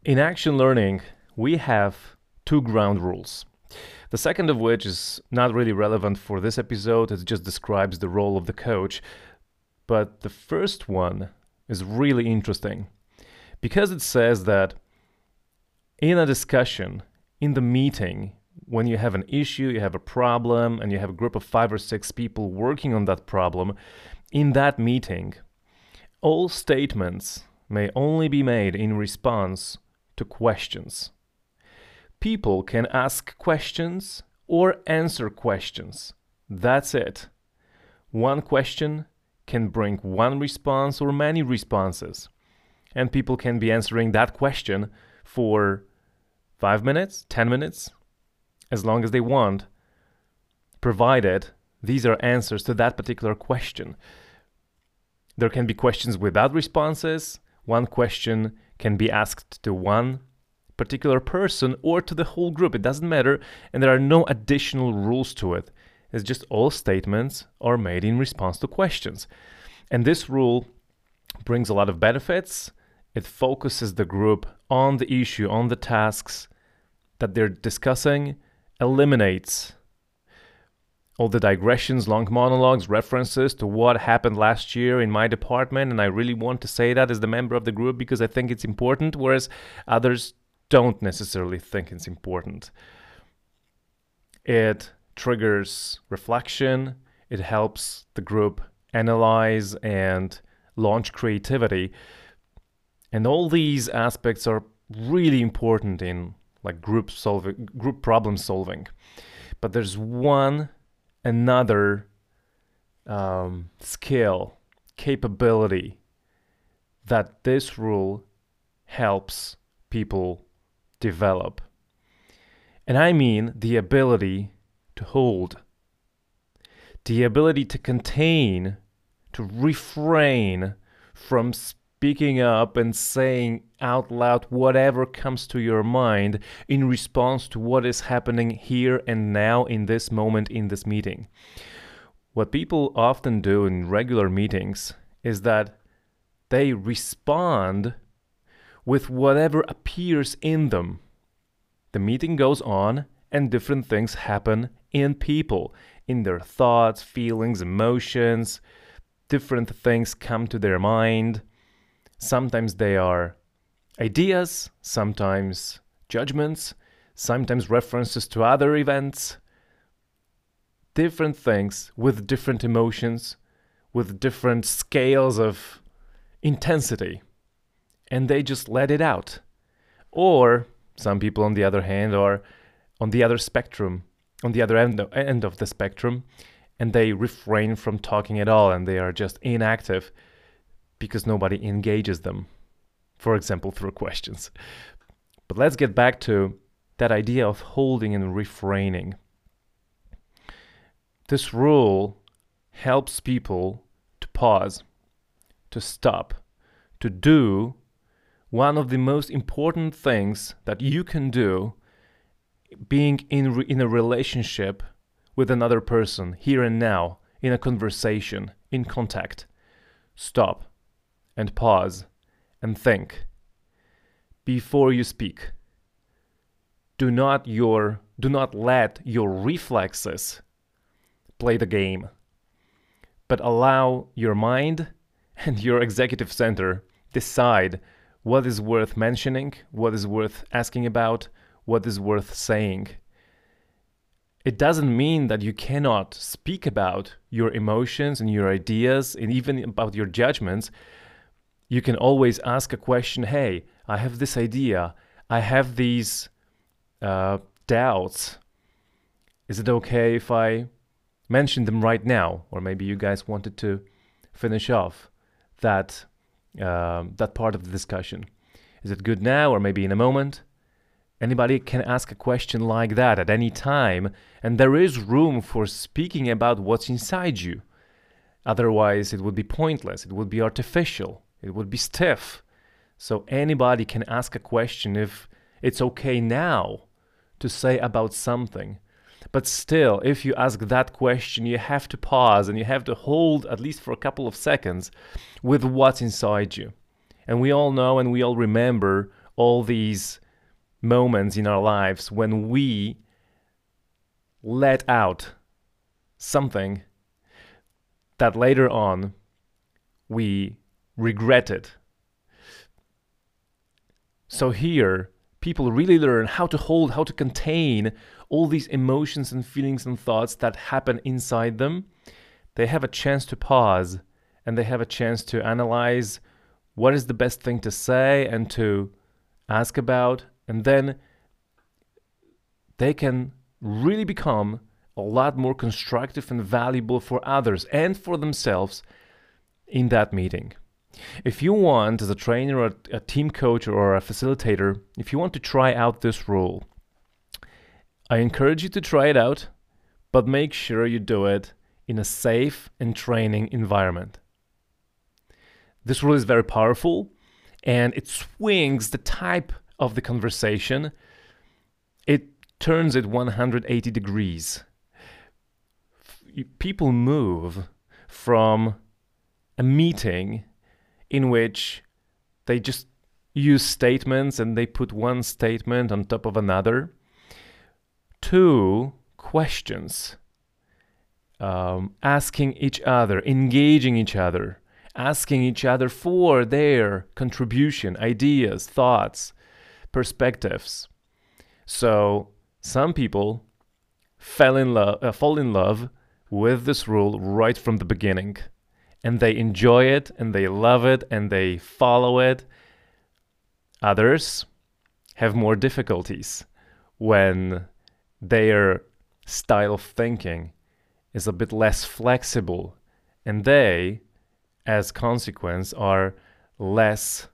In action learning, we have two ground rules. The second of which is not really relevant for this episode, it just describes the role of the coach. But the first one is really interesting because it says that in a discussion, in the meeting, when you have an issue, you have a problem, and you have a group of 5 or 6 people working on that problem, in that meeting, all statements may only be made in response to questions. People can ask questions or answer questions. That's it. One question can bring one response or many responses. And people can be answering that question for 5 minutes, 10 minutes, as long as they want, provided these are answers to that particular question. There can be questions without responses. One question can be asked to one particular person or to the whole group. It doesn't matter, and there are no additional rules to it. It's just all statements are made in response to questions. And this rule brings a lot of benefits. It focuses the group on the issue, on the tasks that they're discussing, eliminates all the digressions, long monologues, references to what happened last year in my department, and I really want to say that as the member of the group because I think it's important, whereas others don't necessarily think it's important. It triggers reflection, it helps the group analyze and launch creativity, and all these aspects are really important in group problem solving. But there's another skill, capability that this rule helps people develop. And I mean the ability to hold, the ability to contain, to refrain from speaking up and saying out loud whatever comes to your mind in response to what is happening here and now in this moment in this meeting. What people often do in regular meetings is that they respond with whatever appears in them. The meeting goes on and different things happen in people, in their thoughts, feelings, emotions. Different things come to their mind. Sometimes they are ideas, sometimes judgments, sometimes references to other events. Different things with different emotions, with different scales of intensity. And they just let it out. Or some people, on the other hand, are on the other spectrum, on the other end of the spectrum, and they refrain from talking at all, and they are just inactive because nobody engages them, for example, through questions. But let's get back to that idea of holding and refraining. This rule helps people to pause, to stop, to do one of the most important things that you can do being in a relationship with another person, here and now, in a conversation, in contact. Stop and pause and think before you speak. Do not let your reflexes play the game, but allow your mind and your executive center decide what is worth mentioning, what is worth asking about, what is worth saying. It doesn't mean that you cannot speak about your emotions and your ideas and even about your judgments. You can always ask a question, hey, I have this idea, I have these doubts. Is it okay if I mention them right now? Or maybe you guys wanted to finish off that part of the discussion. Is it good now or maybe in a moment? Anybody can ask a question like that at any time, and there is room for speaking about what's inside you. Otherwise, it would be pointless, it would be artificial, it would be stiff. So anybody can ask a question if it's okay now to say about something. But still, if you ask that question, you have to pause and you have to hold, at least for a couple of seconds, with what's inside you. And we all know and we all remember all these moments in our lives when we let out something that later on we regretted. So here, people really learn how to hold, how to contain all these emotions and feelings and thoughts that happen inside them. They have a chance to pause, and they have a chance to analyze what is the best thing to say and to ask about, and then they can really become a lot more constructive and valuable for others and for themselves in that meeting. If you want, as a trainer or a team coach or a facilitator, if you want to try out this rule, I encourage you to try it out, but make sure you do it in a safe and training environment. This rule is very powerful, and it swings the type of the conversation. It turns it 180 degrees. People move from a meeting in which they just use statements and they put one statement on top of another to questions, asking each other, engaging each other, asking each other for their contribution, ideas, thoughts, perspectives. So some people fall in love with this rule right from the beginning, and they enjoy it and they love it and they follow it. Others have more difficulties when their style of thinking is a bit less flexible, and they, as consequence, are less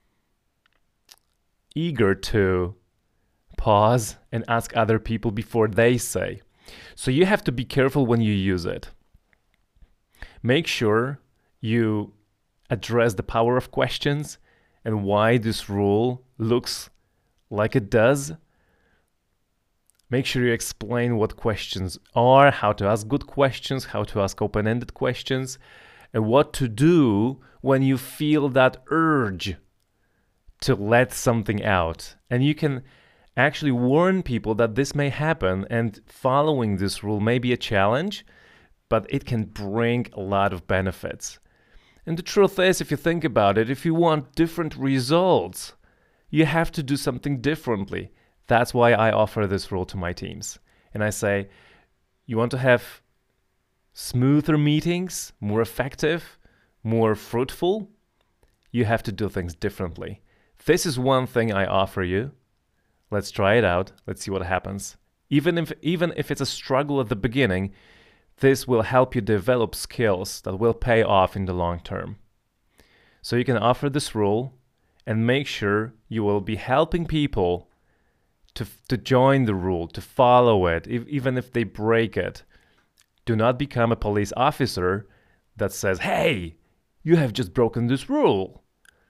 eager to pause and ask other people before they say. So you have to be careful when you use it. Make sure you address the power of questions and why this rule looks like it does. Make sure you explain what questions are, how to ask good questions, how to ask open-ended questions, and what to do when you feel that urge to let something out. And you can actually warn people that this may happen, and following this rule may be a challenge, but it can bring a lot of benefits. And the truth is, if you think about it, if you want different results, you have to do something differently. That's why I offer this rule to my teams. And I say, you want to have smoother meetings, more effective, more fruitful? You have to do things differently. This is one thing I offer you. Let's try it out. Let's see what happens. Even if it's a struggle at the beginning, this will help you develop skills that will pay off in the long term. So you can offer this rule and make sure you will be helping people to join the rule, to follow it, even if they break it. Do not become a police officer that says, hey, you have just broken this rule.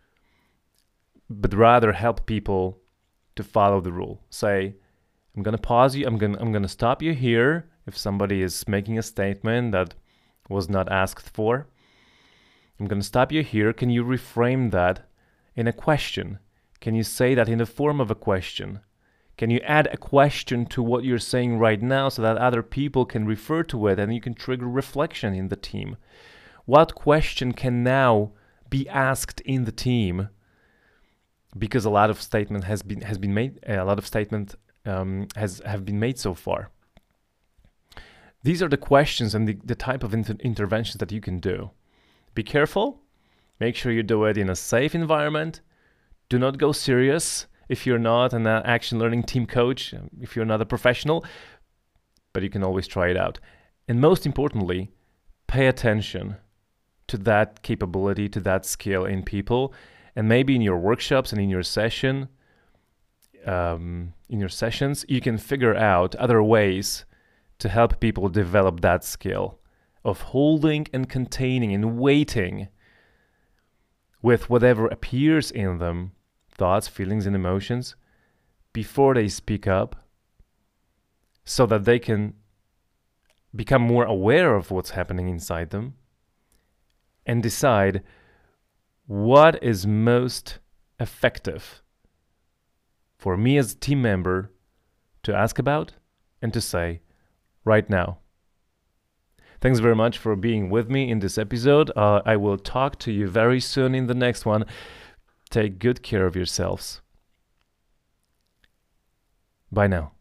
But rather help people to follow the rule. Say, I'm going to pause you, I'm going to stop you here if somebody is making a statement that was not asked for. I'm going to stop you here. Can you reframe that in a question? Can you say that in the form of a question? Can you add a question to what you're saying right now so that other people can refer to it and you can trigger reflection in the team? What question can now be asked in the team? Because a lot of statement has been made. A lot of statement have been made so far. These are the questions and the type of interventions that you can do. Be careful. Make sure you do it in a safe environment. Do not go serious if you're not an action learning team coach, if you're not a professional, but you can always try it out. And most importantly, pay attention to that capability, to that skill in people, and maybe in your workshops and in your sessions, you can figure out other ways to help people develop that skill of holding and containing and waiting with whatever appears in them, thoughts, feelings, and emotions, before they speak up, so that they can become more aware of what's happening inside them and decide what is most effective for me as a team member to ask about and to say right now. Thanks very much for being with me in this episode. I will talk to you very soon in the next one. Take good care of yourselves. Bye now.